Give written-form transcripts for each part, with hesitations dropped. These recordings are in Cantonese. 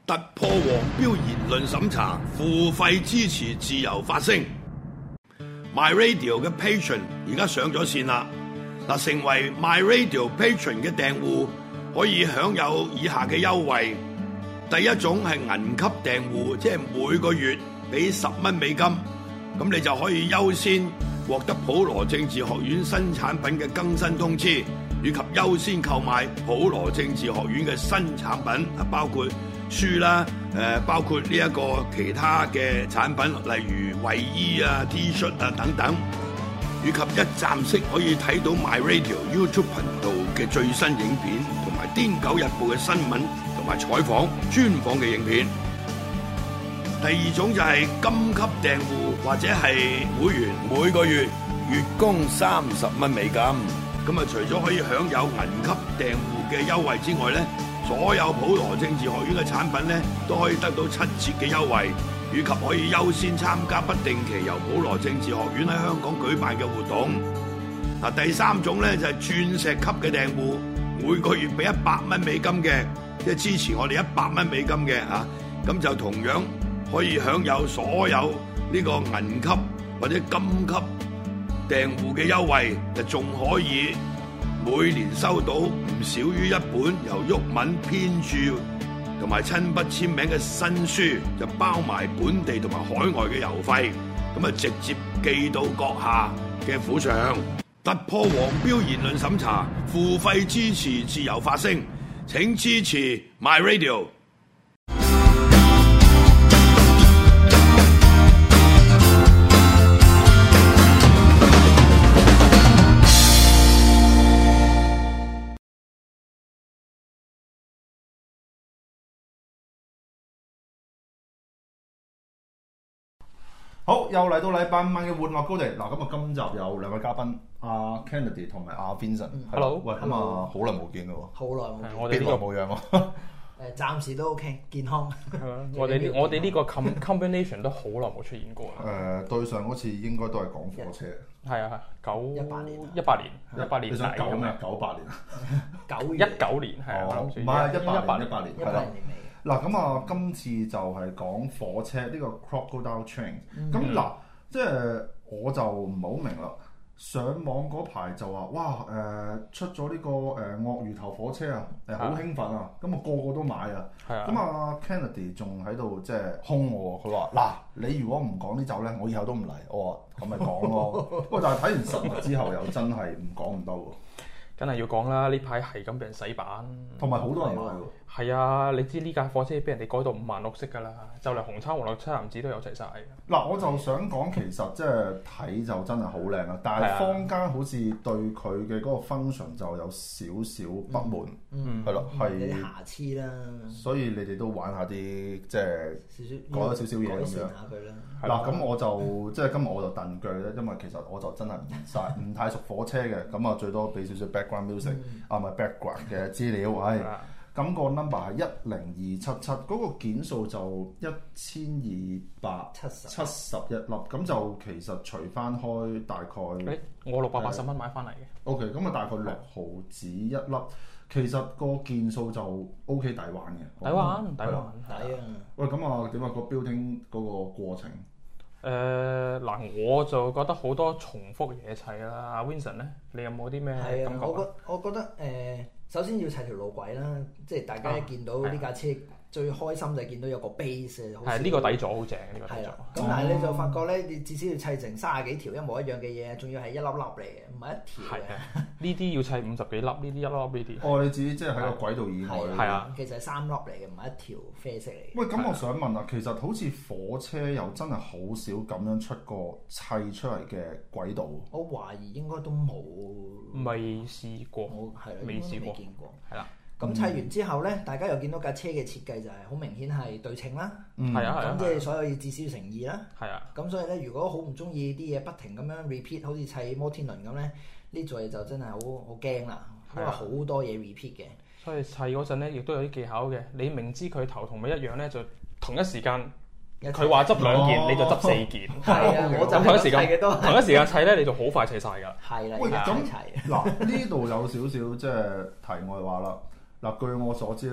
突破黃標言論審查，付費支持自由發聲。My Radio 嘅 Patron 而家上咗線啦！嗱，成為 My Radio Patron 嘅訂戶可以享有以下嘅優惠。第一種係銀級訂戶，即係每個月俾10蚊美金，咁你就可以優先獲得普羅政治學院新產品嘅更新通知，以及優先購買普羅政治學院嘅新產品，包括書啦，包括呢一個其他嘅產品，例如衛衣啊、T 恤啊等等，以及一站式可以睇到 My Radio YouTube 頻道嘅最新影片，同埋《癲狗日報》嘅新聞同埋採訪專訪嘅影片。第二種就係金級訂戶或者係會員，每個月月供30蚊美金。咁啊，除咗可以享有銀級訂戶嘅優惠之外咧，所有普羅政治學院嘅產品咧都可以得到7折嘅優惠，以及可以優先參加不定期由普羅政治學院喺香港舉辦嘅活動。嗱，第三種咧就係鑽石級嘅訂戶，每個月俾100蚊美金嘅，即係支持我哋100蚊美金嘅嚇，咁就同樣可以享有所有呢個銀級或者金級訂戶嘅優惠，就仲可以每年收到唔少於1本由毓民編著同埋親筆簽名嘅新書，就包埋本地同埋海外嘅郵費，咁啊直接寄到閣下嘅府上。突破黃標言論審查，付費支持自由發聲，請支持 My Radio。 好，又嚟到禮拜5晚嘅玩樂高地。嗱，咁啊，今集有兩位嘉賓，阿 Kennedy 同埋阿 Vincent。 Hello， 喂，咁啊，好耐冇見㗎喎。 好耐冇見， 我哋呢個冇樣喎。 暫時都 OK， 健康。 我哋呢個 combination 都好耐冇出現過啦。 對上嗰次應該都係講火車。 係啊 18年 18年。 你想9咩？98年啊 ？19年係啊， 唔係18年係啦。 年尾。 嗱，咁啊，今次就係講火車呢個 Crocodile Train。咁嗱，即係我就唔係好明啦。上網嗰排就話，哇出咗呢個鱷魚頭火車啊，好興奮啊！咁啊個個都買啊。咁啊 Kennedy 仲喺度即係兇我，佢話嗱，你如果唔講呢集咧，我以後都唔嚟。我話咁咪講咯。不過但係睇完實物之後又真係唔講唔得喎。 梗係要講啦！呢排係咁俾人洗版， 同埋好多人買喎。 係啊，你知呢架火車俾人哋改到5顏6色㗎啦，就嚟紅橙黃綠青藍紫都有齊晒。 嗱，我就想講其實即係睇就真係好靚啦，但係坊間好似對佢嘅嗰個 function 就有少少不滿，係咯，係有啲瑕疵啦。所以你哋都玩下啲即係改咗少少嘢咁樣。 下佢啦。 嗱，咁我就即係今日我就燉腳咧，因為其實我就真係唔太熟火車嘅，咁啊最多俾少少 background music 啊，唔係 background 嘅資料，咁個 number 係10277，嗰個件數就1271粒，咁就其實除翻開大概， 我680蚊買翻嚟嘅。 OK， 咁啊大概6毫子一粒，其實個件數就 OK 抵玩嘅。抵玩。喂，咁啊點啊個 building 嗰個過程？ 嗱，我就覺得好多重複嘢砌啦。阿 Vincent 咧，你有冇啲咩感覺？ 我覺得首先要砌條路軌啦，即係大家一見到呢架車最開心就係見到有個 base， 好。係呢個底座好正，呢個底座。咁但係你就發覺咧，你至少要砌成30幾條一模一樣嘅嘢，仲要係一粒粒嚟嘅，唔係一條嘅。呢啲要砌50幾粒，呢啲一粒粒呢啲。哦， 你自己即係喺個軌道以外。 係啊， 其實係3粒嚟嘅，唔係一條啡色嚟嘅。 喂，咁我想問啊，其實好似火車又真係好少咁樣出過砌出嚟嘅軌道。 我懷疑應該都冇。 未試過。未試過。係啦。 咁砌完之後咧，大家又見到架車嘅設計就係好明顯係對稱啦。咁即係所有要至少誠意啦。咁所以咧，如果好唔中意啲嘢不停咁樣 repeat， 好似砌摩天輪咁咧，呢座嘢就真係好驚啦，因為好多嘢 repeat 嘅。 所以砌嗰陣咧，亦都有啲技巧嘅。你明知佢頭同尾一樣咧，就同一時間佢話執2件，你就執4件。 我就同一時間砌咧，你就好快砌晒㗎。 係啦， 咁嗱呢度有少少即係題外話啦。嗱，據我所知咧，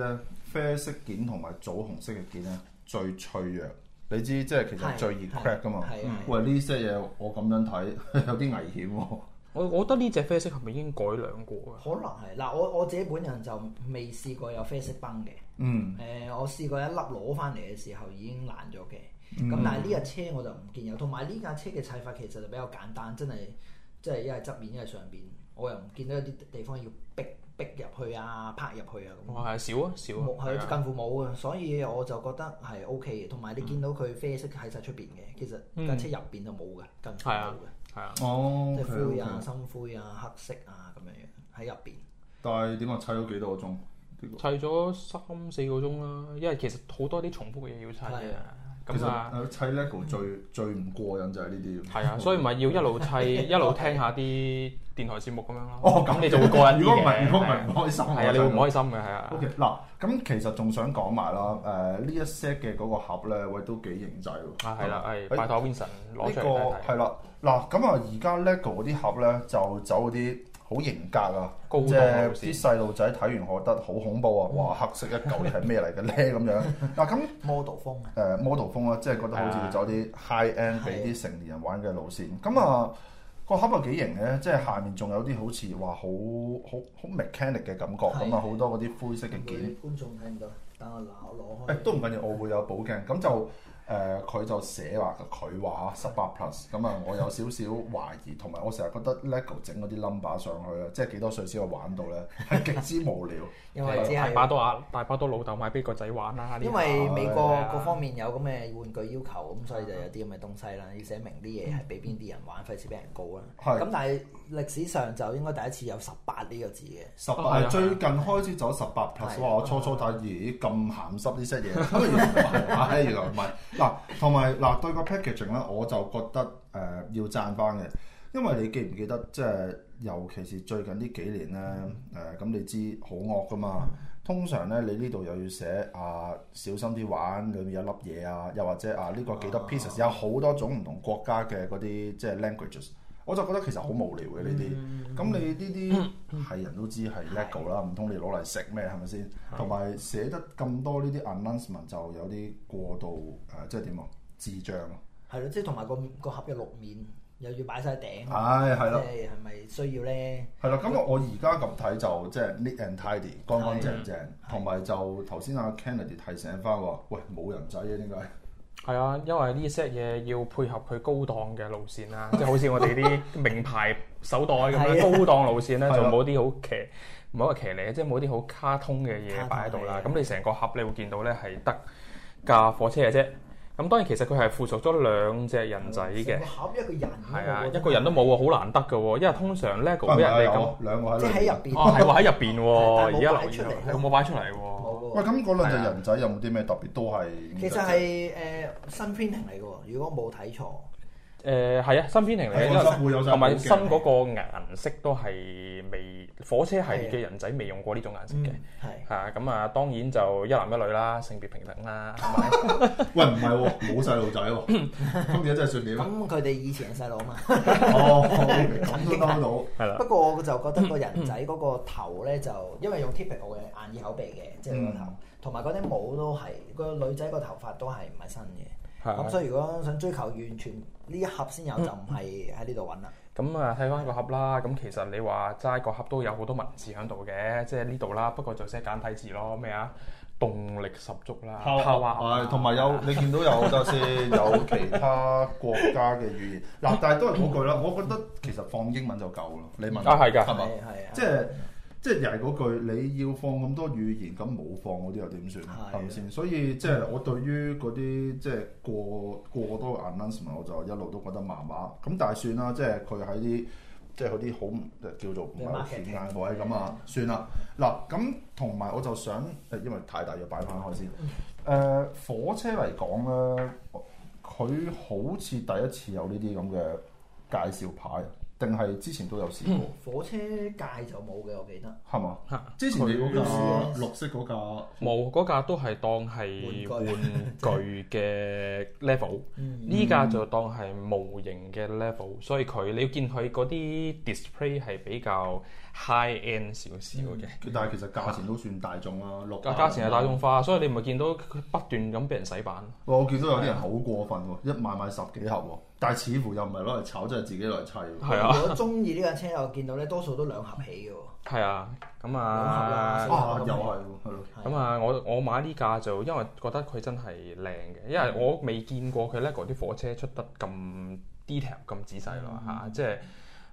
啡色件同埋棗紅色嘅件咧最脆弱。你知即係其實最易 crack 噶嘛？喂，呢些嘢我咁樣睇有啲危險喎。 我覺得呢隻啡色係咪已經改良過啊？ 可能係嗱，我自己本人就未試過有啡色崩嘅。我試過一粒攞翻嚟嘅時候已經爛咗嘅。咁但係呢架車我就唔見有，同埋呢架車嘅砌法其實就比較簡單，真係即係一係側面一係上邊，我又唔見到有啲地方要逼入去啊、拍入去啊咁。 係少啊， 係近乎冇啊，所以我就覺得係 OK 嘅。同埋你見到佢啡色喺晒出邊嘅，其實架車入邊就冇嘅，近乎冇嘅。 係啊， 即係灰啊、深灰啊、黑色啊咁樣樣喺入邊。 但係點解砌咗幾多個鐘？ 砌咗3-4個鐘啦，因為其實好多啲重複嘅嘢要砌嘅。咁啊， 砌 LEGO 最唔過癮就係呢啲。 係啊，所以咪要一路砌一路聽下啲電台節目咁樣咯。咁你就會過癮啲嘅。 如果唔係唔開心。 係啊，你會唔開心嘅係啊。 OK 嗱，咁其實仲想講埋啦，呢一 set 嘅嗰個盒咧，喂都幾型仔喎。 係啦，係拜託 Vincent 攞出嚟睇睇。 係啦，嗱咁啊，而家 LEGO 嗰啲盒咧就走嗰啲好型格啊，即係啲細路仔睇完覺得好恐怖啊！哇，黑色一嚿係咩嚟嘅咧咁樣？嗱咁 model 風 model 風啦，即係覺得好似要走啲 high end 俾啲成年人玩嘅路線。咁啊個盒又幾型嘅，即係下面仲有啲好似話好 mechanic 嘅感覺。咁啊好多嗰啲灰色嘅件。 觀眾睇唔到，等我攞開。 都唔緊要，我會有補鏡。咁就佢就寫話佢話18 plus， 咁啊我有少少懷疑，同埋我成日覺得 LEGO 整嗰啲 number 上去咧，即係幾多歲先去玩到咧，係極之無聊。 因為只係大把多老豆買俾個仔玩啦。 因為美國各方面有咁嘅玩具要求，咁所以就有啲咁嘅東西啦，要寫明啲嘢係俾邊啲人玩，費事俾人告啦。咁但係歷史上就應該第一次有18呢個字嘅。 18最近開始走18 plus， 哇！我初睇咦咁鹹濕呢些嘢，原來唔係。嗱，同埋嗱對個 packaging 咧，我就覺得要讚翻嘅，因為你記唔記得即係尤其是最近呢幾年咧咁你知好惡噶嘛？通常咧你呢度又要寫小心啲玩，裏面有粒嘢啊，又或者呢個幾多 pieces，有好多種唔同國家嘅嗰啲即係 languages， 我就覺得其實好無聊嘅呢啲。咁你呢啲係人都知係 LEGO 啦，唔通你攞嚟食咩係咪先？同埋寫得咁多呢啲 announcement 就有啲過度即係點啊？智障啊！ 係咯，即係同埋個盒有6面，又要擺晒頂。 係咯， 即係咪需要咧？ 係啦，咁我而家咁睇就即係 neat and tidy， 乾乾淨淨，同埋就頭先阿 Kennedy 提醒翻話，喂冇人仔嘅點解？ 係啊，因為呢 set 嘢要配合佢高檔嘅路線啦，即係好似我哋啲名牌手袋咁樣高檔路線咧，就冇啲好唔係話騎呢，即係冇啲好卡通嘅嘢擺喺度啦。咁你成個盒你會見到咧係得架火車嘅啫。咁當然其實佢係附屬咗2隻人仔嘅。 個盒一個人係啊，一個人都冇喎，好難得嘅喎。因為通常 LEGO 俾人哋咁兩個喺即係喺入邊。 係喎喺入邊喎，而家擺出嚟， 佢冇擺出嚟喎。 喂，咁嗰2隻人仔有冇啲咩特別？都係其實係新 printing 嚟嘅喎，如果冇睇錯。 係啊，新 printing 嚟嘅，同埋新嗰個顏色都係火車系列嘅人仔未用過呢種顏色嘅，係咁啊，當然就一男一女啦，性別平等啦。 喂，唔係喎，冇細路仔喎，咁而家真係算點？ 咁佢哋以前係細路啊嘛。 咁都得到。 係啦。 不過我就覺得個人仔嗰個頭咧，就因為用 typical 嘅眼耳口鼻嘅，即係個頭，同埋嗰啲帽都係個女仔個頭髮都係唔係新嘅。咁所以如果想追求完全呢一盒先有，就唔係喺呢度揾啦。 咁啊，睇翻個盒啦。咁其實你話齋個盒都有好多文字喺度嘅，即係呢度啦。不過就寫簡體字咯，咩啊？動力十足啦， 係同埋有你見到有就先有其他國家嘅語言嗱，但係都係嗰句啦。我覺得其實放英文就夠啦。你問係㗎， 係嘛？ 係即係又係嗰句，你要放咁多語言，咁冇放嗰啲又點算？係咪先？所以即係我對於嗰啲即係過多 announcement， 我就一路都覺得麻麻。咁但係算啦，即係佢喺啲即係嗰啲好叫做唔係好顯眼位咁啊，算啦。嗱咁同埋我就想因為太大要擺翻開先。火車嚟講咧，佢好似第一次有呢啲咁嘅介紹牌。定係之前都有試過。火車界就冇嘅，我記得。 係嘛？之前你嗰架綠色嗰架冇，嗰架都係當係玩具嘅 level。呢架就當係模型嘅 level，所以你要見佢嗰啲 display 係比較 high end 少少嘅。 但係其實價錢都算大眾啦， 價錢係大眾化，所以你咪見到佢不斷咁俾人洗版。 我見到有啲人好過分喎，一買10幾盒喎，但係似乎又唔係攞嚟炒，即係自己攞嚟砌。 係啊， 如果中意呢架車，我見到咧多數都2盒起嘅喎。 係啊，咁又係喎，係咯。 咁啊，我買呢架就因為覺得佢真係靚嘅，因為我未見過佢LEGO啲火車出得咁 detail 咁仔細咯嚇，即係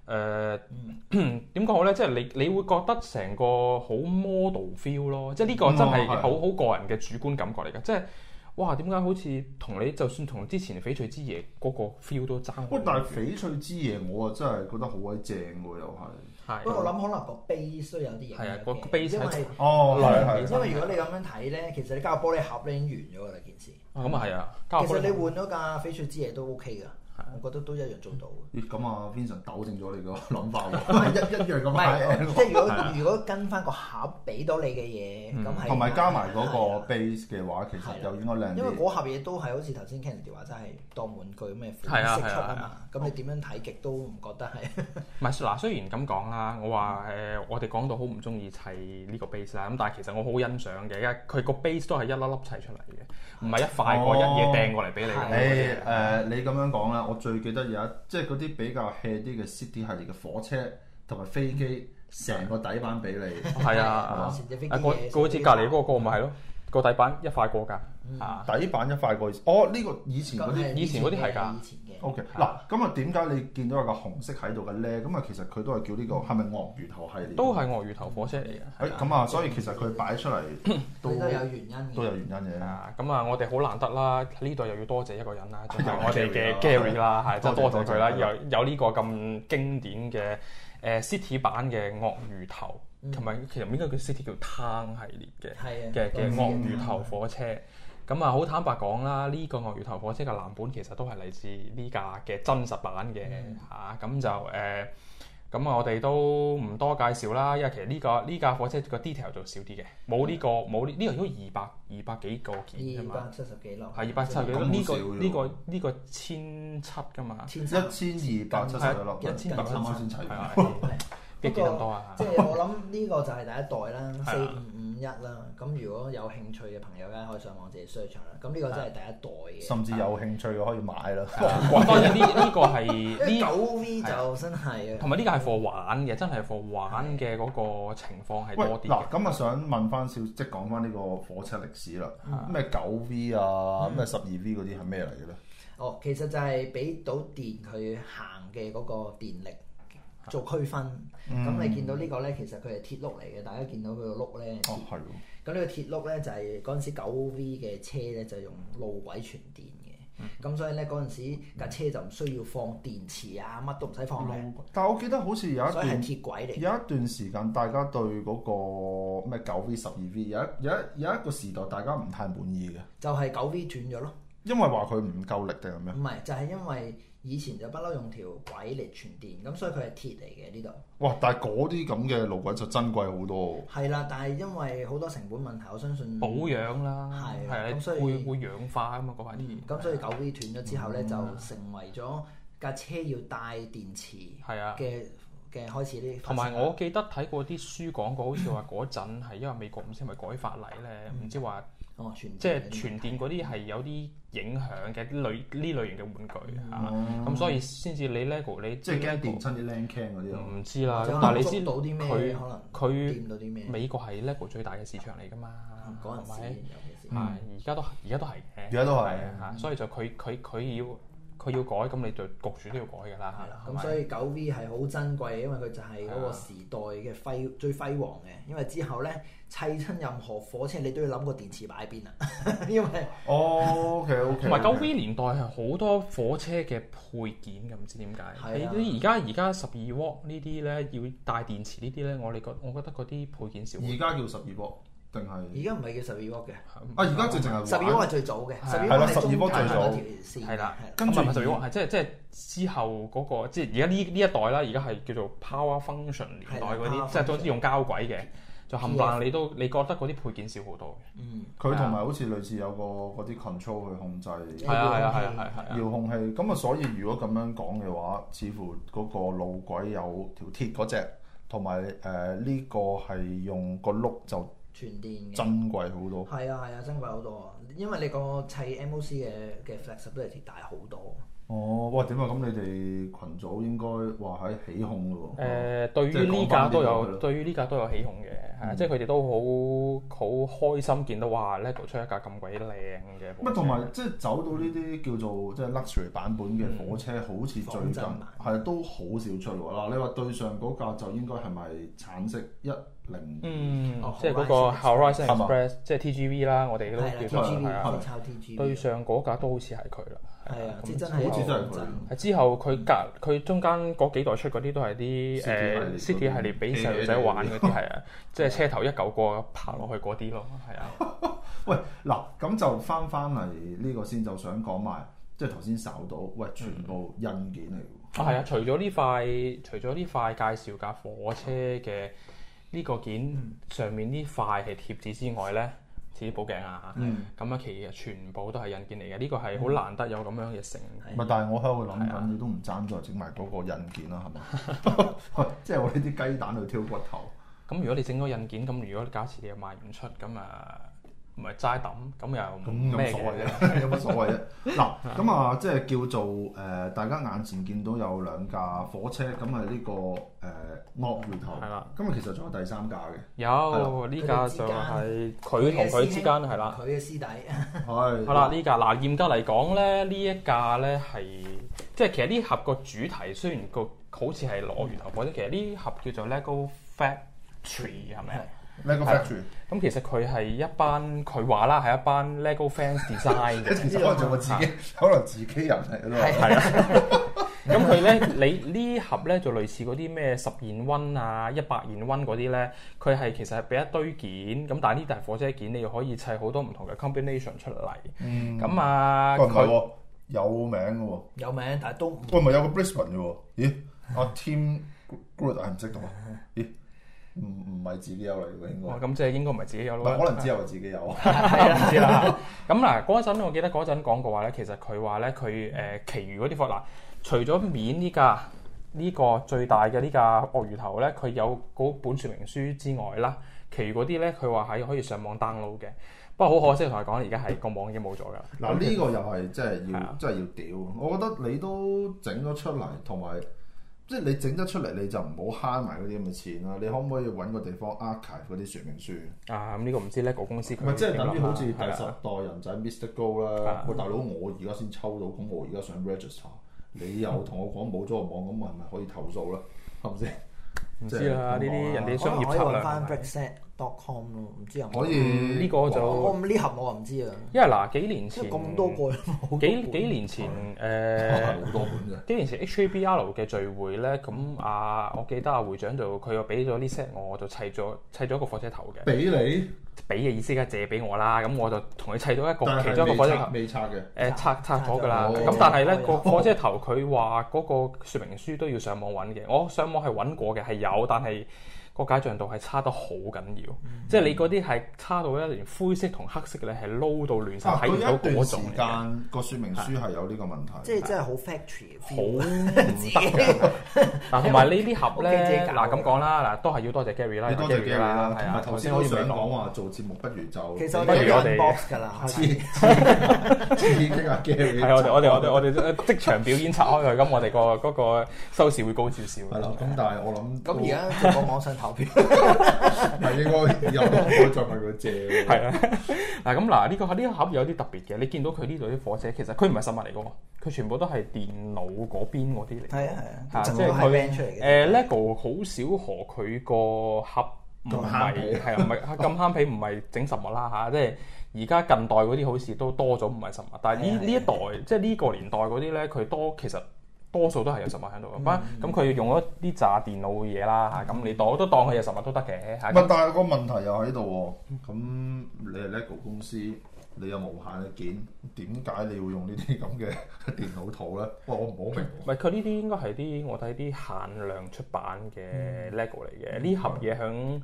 點講好咧？即係你會覺得成個好 model feel 咯，即係呢個真係好個人嘅主觀感覺嚟㗎，即係哇點解好似同你就算同之前翡翠之夜嗰個 feel 都爭。 喂，但係翡翠之夜我啊真係覺得好鬼正喎，又係。 不過我諗可能個 base 都有啲影響嘅， 個 base 因為係因為如果你咁樣睇咧，其實你加個玻璃盒咧已經完咗㗎啦件事。 咁啊係啊， 其實你換咗架翡翠之夜都 OK 㗎。我覺得都一樣做到。 咦，咁啊 Vincent 糾正咗你個諗法喎，一樣咁係。 即係如果跟翻個盒俾到你嘅嘢，咁係同埋加埋嗰個 base 嘅話，其實又應該靚啲。 因為嗰盒嘢都係好似頭先 Kennedy 話，真係當玩具咩款式出啊嘛。咁你點樣睇極都唔覺得係。 唔係嗱，雖然咁講啦，我話我哋講到好唔中意砌呢個 base 啦，咁但係其實我好欣賞嘅，因為佢個 base 都係一粒粒砌出嚟嘅，唔係一塊過一嘢掟過嚟俾你。 你咁樣講啦。我最記得即係嗰啲比較 hea 啲嘅 City 系列嘅火車同埋飛機，成個底板俾你。 係啊，佢好似隔離嗰個咪係咯，個底板一塊過㗎。 底板一塊過。哦，呢個以前嗰啲係㗎。 OK， 嗱，咁啊點解你見到有個紅色喺度嘅咧？咁啊其實佢都係叫呢個係咪鱷魚頭系列？ 都係鱷魚頭火車嚟嘅。 咁啊，所以其實佢擺出嚟都有原因嘅。 都有原因嘅。 咁啊，我哋好難得啦，呢度又要多謝一個人啦，就係我哋嘅 Gary 啦，係真係多謝佢啦，有呢個咁經典嘅City 版嘅鱷魚頭，同埋其實應該叫 City 叫灘系列嘅鱷魚頭火車。咁啊，好坦白講啦，呢個鱷魚頭火車嘅藍本其實都係嚟自呢架嘅真實版嘅嚇，咁就咁啊，我哋都唔多介紹啦，因為其實呢架火車個 detail 就少啲嘅，冇呢個應該200幾個件啫嘛 ，270幾粒， 係270幾粒，呢個1700㗎嘛 ，1270粒，1800先砌。 幾咁多啊？ 即係我諗呢個就係第一代啦，4551啦。咁如果有興趣嘅朋友咧，可以上網自己 search 啦。咁呢個真係第一代嘅。 甚至有興趣嘅可以買啦。 當然呢個係呢 9V 就真係同埋呢個係 for 玩嘅，真係 for 玩嘅嗰個情況係多啲。 嗱，咁啊想問翻即係講翻呢個火車歷史啦。咩9V 啊，咩12V 嗰啲係咩嚟嘅咧？ 哦，其實就係俾到電佢行嘅嗰個電力。做區分，咁你見到呢個咧，其實佢係鐵轆嚟嘅，大家見到佢個轆咧。 哦，係喎。 咁呢個鐵轆咧就係嗰陣時9V 嘅車咧就用路軌傳電嘅，咁所以咧嗰陣時架車就唔需要放電池啊，乜都唔使放嘅。 但係我記得好似有一段係鐵軌嚟。 有一段時間，大家對嗰個咩9V、12V 有一個時代，大家唔太滿意嘅。 就係9V 斷咗咯。 因為話佢唔夠力定係咩？ 唔係，就係因為以前就不嬲用條軌嚟傳電，咁所以佢係鐵嚟嘅呢度。 哇！但係嗰啲咁嘅路軌就珍貴好多喎。 係啦，但係因為好多成本問題，我相信保養啦， 係咁所以會氧化啊嘛嗰塊鐵。 咁所以9V 斷咗之後咧，就成為咗架車要帶電池嘅開始呢。 同埋我記得睇過啲書講過，好似話嗰陣係因為美國唔知係咪改法例咧，唔知話。即係傳電嗰啲係有啲影響嘅呢類型嘅玩具嚇，咁所以先至你 LEGO 你即係驚電親啲 LAN cam 嗰啲咯。 唔知啦，但係你知到啲咩可能掂到啲咩？ 美國係 LEGO 最大嘅市場嚟㗎嘛， 嗰陣時而家都係嘅， 而家都係嚇，所以就佢要改，咁你就焗住都要改㗎啦。 係啦，咁所以9V 係好珍貴，因為佢就係嗰個時代嘅最輝煌嘅。因為之後咧砌親任何火車，你都要諗個電池擺喺邊啊。因為 OK， 同埋9V 年代係好多火車嘅配件嘅，唔知點解。你而家12瓦呢啲咧要帶電池呢啲咧，我覺得嗰啲配件少。 而家叫12瓦。定係而家唔係叫12瓦嘅， 而家直情係 12瓦係最早嘅，12 瓦係12瓦最早， 係啦， 跟住 12瓦係即係之後嗰個，即係而家呢一代啦，而家係叫做 Power Function 年代嗰啲，即係都用膠軌嘅，就冚唪唥你覺得嗰啲配件少好多嘅。 佢同埋好似類似有個嗰啲 control 去控制， 係啊， 遙控器。咁啊，所以如果咁樣講嘅話，似乎嗰個路軌有條鐵嗰隻。 同埋呢個係用個碌就全電嘅， 珍貴好多。 係啊，珍貴好多啊！因為你個砌 MOC 嘅 flexibility 大好多。 哦，哇！點啊？咁你哋群組應該話喺起哄咯喎。 對於呢架都有，對於呢架都有起哄嘅，係即係佢哋都好開心見到哇 LEGO 出一架咁鬼靚嘅火車。 同埋即係走到呢啲叫做即係 luxury 版本嘅火車，好似最近係都好少出喎。嗱，你話對上嗰架就應該係咪橙色10？ 即係嗰個 Horizon Express，即係 TGV 啦，我哋都叫做係啊。 抄 TGV。 對上嗰架都好似係佢啦。 係啊， 真係好似真係佢。 之後佢中間嗰幾代出嗰啲都係啲City 系列俾細路仔玩嗰啲係啊，即係車頭一嚿過爬落去嗰啲咯，係啊。 喂，嗱咁就翻嚟呢個先，就想講埋，即係頭先搜到，喂，全部印件嚟㗎。 係啊，除咗呢塊介紹架火車嘅呢個件上面呢塊係貼紙之外咧。啲寶鏡啊，咁其實全部都係印件嚟嘅，呢個係好難得有咁樣嘅成。 但係我喺度諗緊，你都唔爭再整埋嗰個印件啦，係嘛？即係我呢啲雞蛋去挑骨頭。 咁如果你整咗印件，咁如果假設你又賣唔出，咁唔係齋抌，咁又咩嘅？ 有乜所謂啫？嗱，咁啊，即係叫做大家眼前見到有兩架火車，咁係呢個鱷魚頭。係啦。咁啊，其實仲有第三架嘅。 有呢架就係佢同佢之間係啦。 佢嘅師弟。 係啦，呢架嗱嚴格嚟講咧，呢一架咧係即係其實呢盒個主題雖然個好似係鱷魚頭火車，其實呢盒叫做 LEGO Factory 係咪啊？ LEGO Factory， 咁其實佢係一班佢話啦，係一班 LEGO fans design 嘅。 其實可能做我自己，可能自己人嚟咯。 係啊。咁佢咧，你呢盒咧就類似嗰啲咩10現溫啊、100現溫嗰啲咧，佢係其實係俾一堆件，咁但係呢台火車件你又可以砌好多唔同嘅 combination 出嚟。咁啊， 佢有名嘅喎。 有名，但係都喂，咪有個 Brisbane 嘅喎？咦，阿 Tim Good 係唔識讀啊？咦？唔係自己有嚟嘅應該。 咁即係應該唔係自己有咯。 可能之後自己有。 係唔知啦。咁嗱，嗰陣我記得嗰陣講過話咧，其實佢話咧佢其餘嗰啲貨嗱，除咗面呢個最大嘅呢架鱷魚頭咧，佢有嗰本說明書之外啦，其餘嗰啲咧佢話係可以上網 download 嘅。不過好可惜同佢講，而家係個網已經冇咗㗎啦。 嗱，呢個又係真係要屌。我覺得你都整咗出嚟，同埋。即係你整得出嚟，你就唔好慳埋嗰啲咁嘅錢啦。你可唔可以揾個地方 archive 嗰啲說明書？ 咁呢個唔知 LEGO 公司佢。 唔係即係等於好似第10代人仔 Mr. Go 啦。喂，大佬，我而家先抽到，咁我而家想 register， 你又同我講冇咗個網，咁我係咪可以投訴咧？係咪先？ 唔知啦，呢啲人哋商業策略。 翻 Brickset.com 咯，唔知有冇可以呢個就我呢盒我唔知啊。 因為嗱幾年前咁多個幾年前好多本啫。 幾年前 HABL 嘅聚會咧，咁我記得會長就佢又俾咗啲 set 我就砌咗一個火車頭嘅。 俾你？ 俾嘅意思梗係借俾我啦，咁我就同佢砌到一個其中一個火車頭。 未拆嘅。 拆咗㗎啦。咁但係咧個火車頭佢話嗰個說明書都要上網揾嘅，我上網係揾過嘅，係有，但係。個解像度係差得好緊要，即係你嗰啲係差到咧，連灰色同黑色嘅咧係撈到亂晒，睇唔到嗰種。時間個說明書係有呢個問題， 即係真係好 factory， 好唔得嘅。嗱，同埋呢啲盒咧，嗱咁講啦，嗱都係要多謝 Gary 啦， 多謝 Gary 啦。 係啊， 頭先我想講話做節目不如就其實我哋有 box 㗎啦， 刺激啊 Gary。 係我哋即場表演拆開佢，咁我哋嗰個收視會高少少。 係啦，咁但係我諗咁而家做個網上投票， 係應該以後都唔可以再問佢借。 係啊，嗱咁嗱呢個盒有啲特別嘅，你見到佢呢度啲火車，其實佢唔係實物嚟嘅喎，佢全部都係電腦嗰邊嗰啲嚟。 係啊， 即係佢LEGO 好少何佢個盒唔係係唔係咁慳皮，唔係整實物啦嚇，即係而家近代嗰啲好似都多咗唔係實物，但係呢一代即係呢個年代嗰啲咧，佢其實。多數都係有實物喺度嘅，咁佢用咗啲炸電腦嘅嘢啦嚇，咁你都當佢有實物都得嘅嚇。 但係個問題又喺度喎，咁你係 LEGO 公司，你有無限嘅件，點解你要用呢啲咁嘅電腦圖咧？我唔好明。 唔係佢呢啲應該係我睇啲限量出版嘅 LEGO 嚟嘅，呢盒嘢響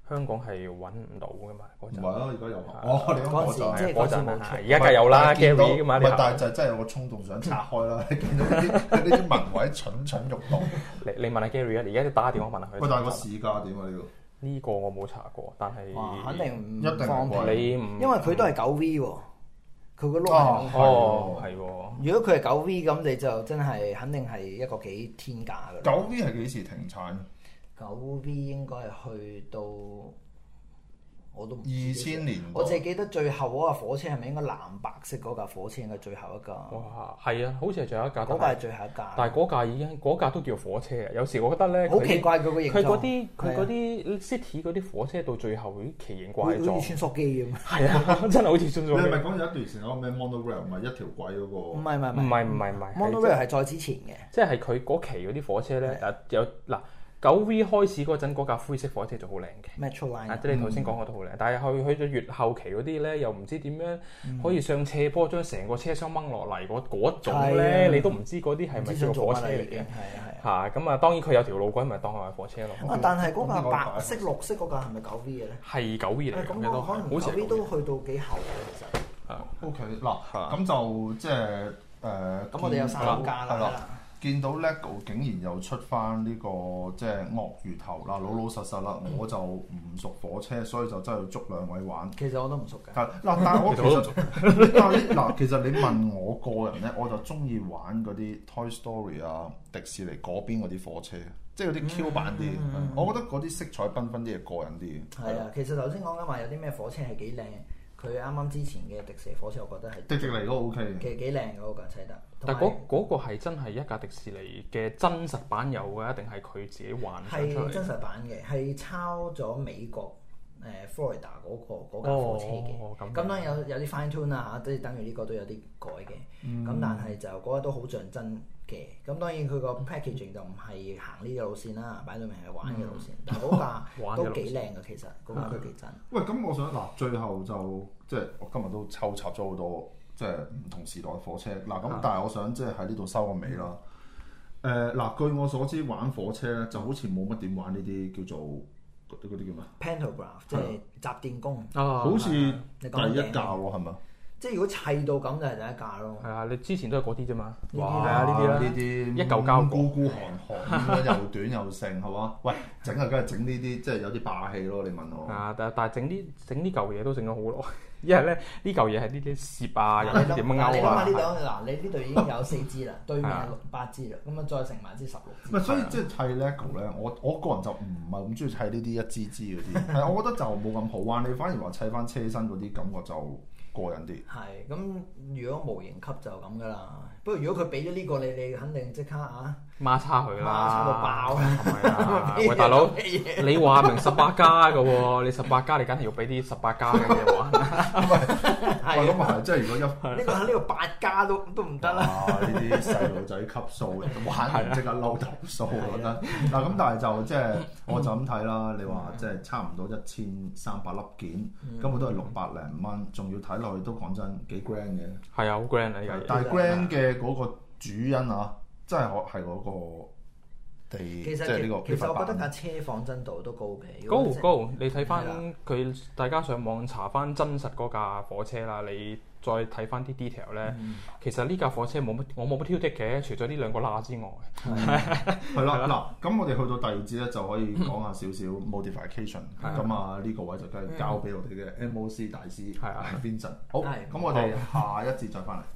香港係揾唔到噶嘛嗰陣。 唔係啊，而家有你講嗰陣即係嗰陣冇出， 而家梗係有啦 Gary 噶嘛。 但係就真係有個衝動想拆開啦，見到呢啲文位蠢蠢欲動。 你問下 Gary 啊，而家打電話問下佢。 喂，但係個市價點啊？ 呢個我冇查過，但係肯定唔一定方便。 你唔因為佢都係9V 喎，佢個碌係喎。 如果佢係9V咁，你就真係肯定係一個幾天價㗎。 9V 係幾時停產 ？9V 應該係去到我都唔知 2000年。 我淨係記得最後嗰架火車係咪應該藍白色嗰架火車應該最後一架？ 哇，係啊，好似係最後一架。 嗰架係最後一架。 但係嗰架都叫火車啊！有時我覺得咧， 好奇怪佢個形狀。 佢嗰啲 city 嗰啲火車到最後啲奇形怪狀， 好似穿梭機咁。 係啊，真係好似穿梭機。 你係咪講有一段時間嗰個咩 monorail 唔係一條軌嗰個？ 唔係 ，monorail 係再之前嘅。 即係佢嗰期嗰啲火車咧，有嗱。9V 開始嗰陣嗰架灰色火車就好靚嘅 Metro Line， 即係你頭先講過都好靚，但係去到越後期嗰啲咧，又唔知點樣可以上斜坡將成個車廂掹落嚟嗰種咧，你都唔知嗰啲係咪叫火車嚟嘅？係咁啊，當然佢有條路軌，咪當佢係火車咯。 但係嗰架白色、綠色嗰架係咪9V 嘅咧？ 係9V 嚟嘅， 咁可能9V都去到幾後嘅其實。 OK 嗱，咁就即係咁我哋有3架啦。 見到 LEGO 竟然又出翻呢個即係鱷魚頭啦，老老實實啦，我就唔熟火車，所以就真係要捉兩位玩。 其實我都唔熟嘅。 但係我其實你問我個人咧，我就中意玩嗰啲 Toy Story 啊、迪士尼嗰邊嗰啲火車，即係嗰啲 Q 版啲。我覺得嗰啲色彩繽紛啲嘢過癮啲。 係啊，其實頭先講緊話有啲咩火車係幾靚。佢啱啱之前嘅迪士尼火車，我覺得係迪士尼都 OK 嘅， 幾靚嗰架砌得。 但係嗰個係真係一架迪士尼嘅真實版有嘅，定係佢自己幻想出嚟？ 係真實版嘅，係抄咗美國Florida 嗰架火車嘅。咁當然有啲 fine tune 啊，即係等於呢個都有啲改嘅。咁但係就嗰個都好像真嘅。咁當然佢個 packaging 就唔係行呢個路線啦，擺到明係玩嘅路線。但係嗰架都幾靚嘅，其實嗰架都幾真。 喂，咁我想嗱，最後就即係我今日都抽插咗好多即係唔同時代嘅火車嗱。咁但係我想即係喺呢度收個尾啦。嗱，據我所知玩火車咧就好似冇乜點玩呢啲叫做嗰啲叫咩 ？Pantograph 即係集電工。 好似第一架喎，係咪？ 即係如果砌到咁就係第一架咯。 係啊，你之前都係嗰啲啫嘛。 哇！ 呢啲啦， 呢啲一嚿膠孤孤寒寒咁樣又短又剩係嘛？喂，整啊梗係整呢啲即係有啲霸氣咯！你問我。 但係整呢嚿嘢都整咗好耐，因為咧呢嚿嘢係呢啲攝啊，又唔知點樣勾啊。 你諗下呢度嗱，你呢度已經有4支啦，對面8支啦，咁啊再乘埋支16支。 唔係，所以即係砌 LEGO 咧，我個人就唔係咁中意砌呢啲一支支嗰啲，係我覺得就冇咁好玩。你反而話砌翻車身嗰啲感覺就過癮啲。係， 咁如果模型級就咁噶啦。不過如果佢俾咗呢個你肯定即刻孖叉佢啦， 孖叉到爆啊！喂，大佬，你話明18加嘅喎，你18加你梗係要俾啲18加嘅嘢玩。 喂，咁啊係，即係如果呢個8加都唔得啦。 呢啲細路仔級數玩完即刻嬲頭數，我覺得。嗱咁，但係就即係我就咁睇啦。你話即係差唔多1300粒件，根本都係600零蚊，仲要睇落去都講真幾 grand 嘅。 係啊，好 grand 啊！呢個但係 grand 嘅嗰個主因啊，真係係嗰個地，即係呢個。 其實我覺得架車仿真度都高嘅。 高，你睇翻佢，大家上網查翻真實嗰架火車啦，你再睇翻啲 detail 咧，其實呢架火車我冇乜挑剔嘅，除咗呢2個罅之外。 係啦，嗱，咁我哋去到第2節咧，就可以講下少少 modification。咁啊，呢個位就梗係交俾我哋嘅 MOC 大師 Vincent。好，咁我哋下一節再翻嚟。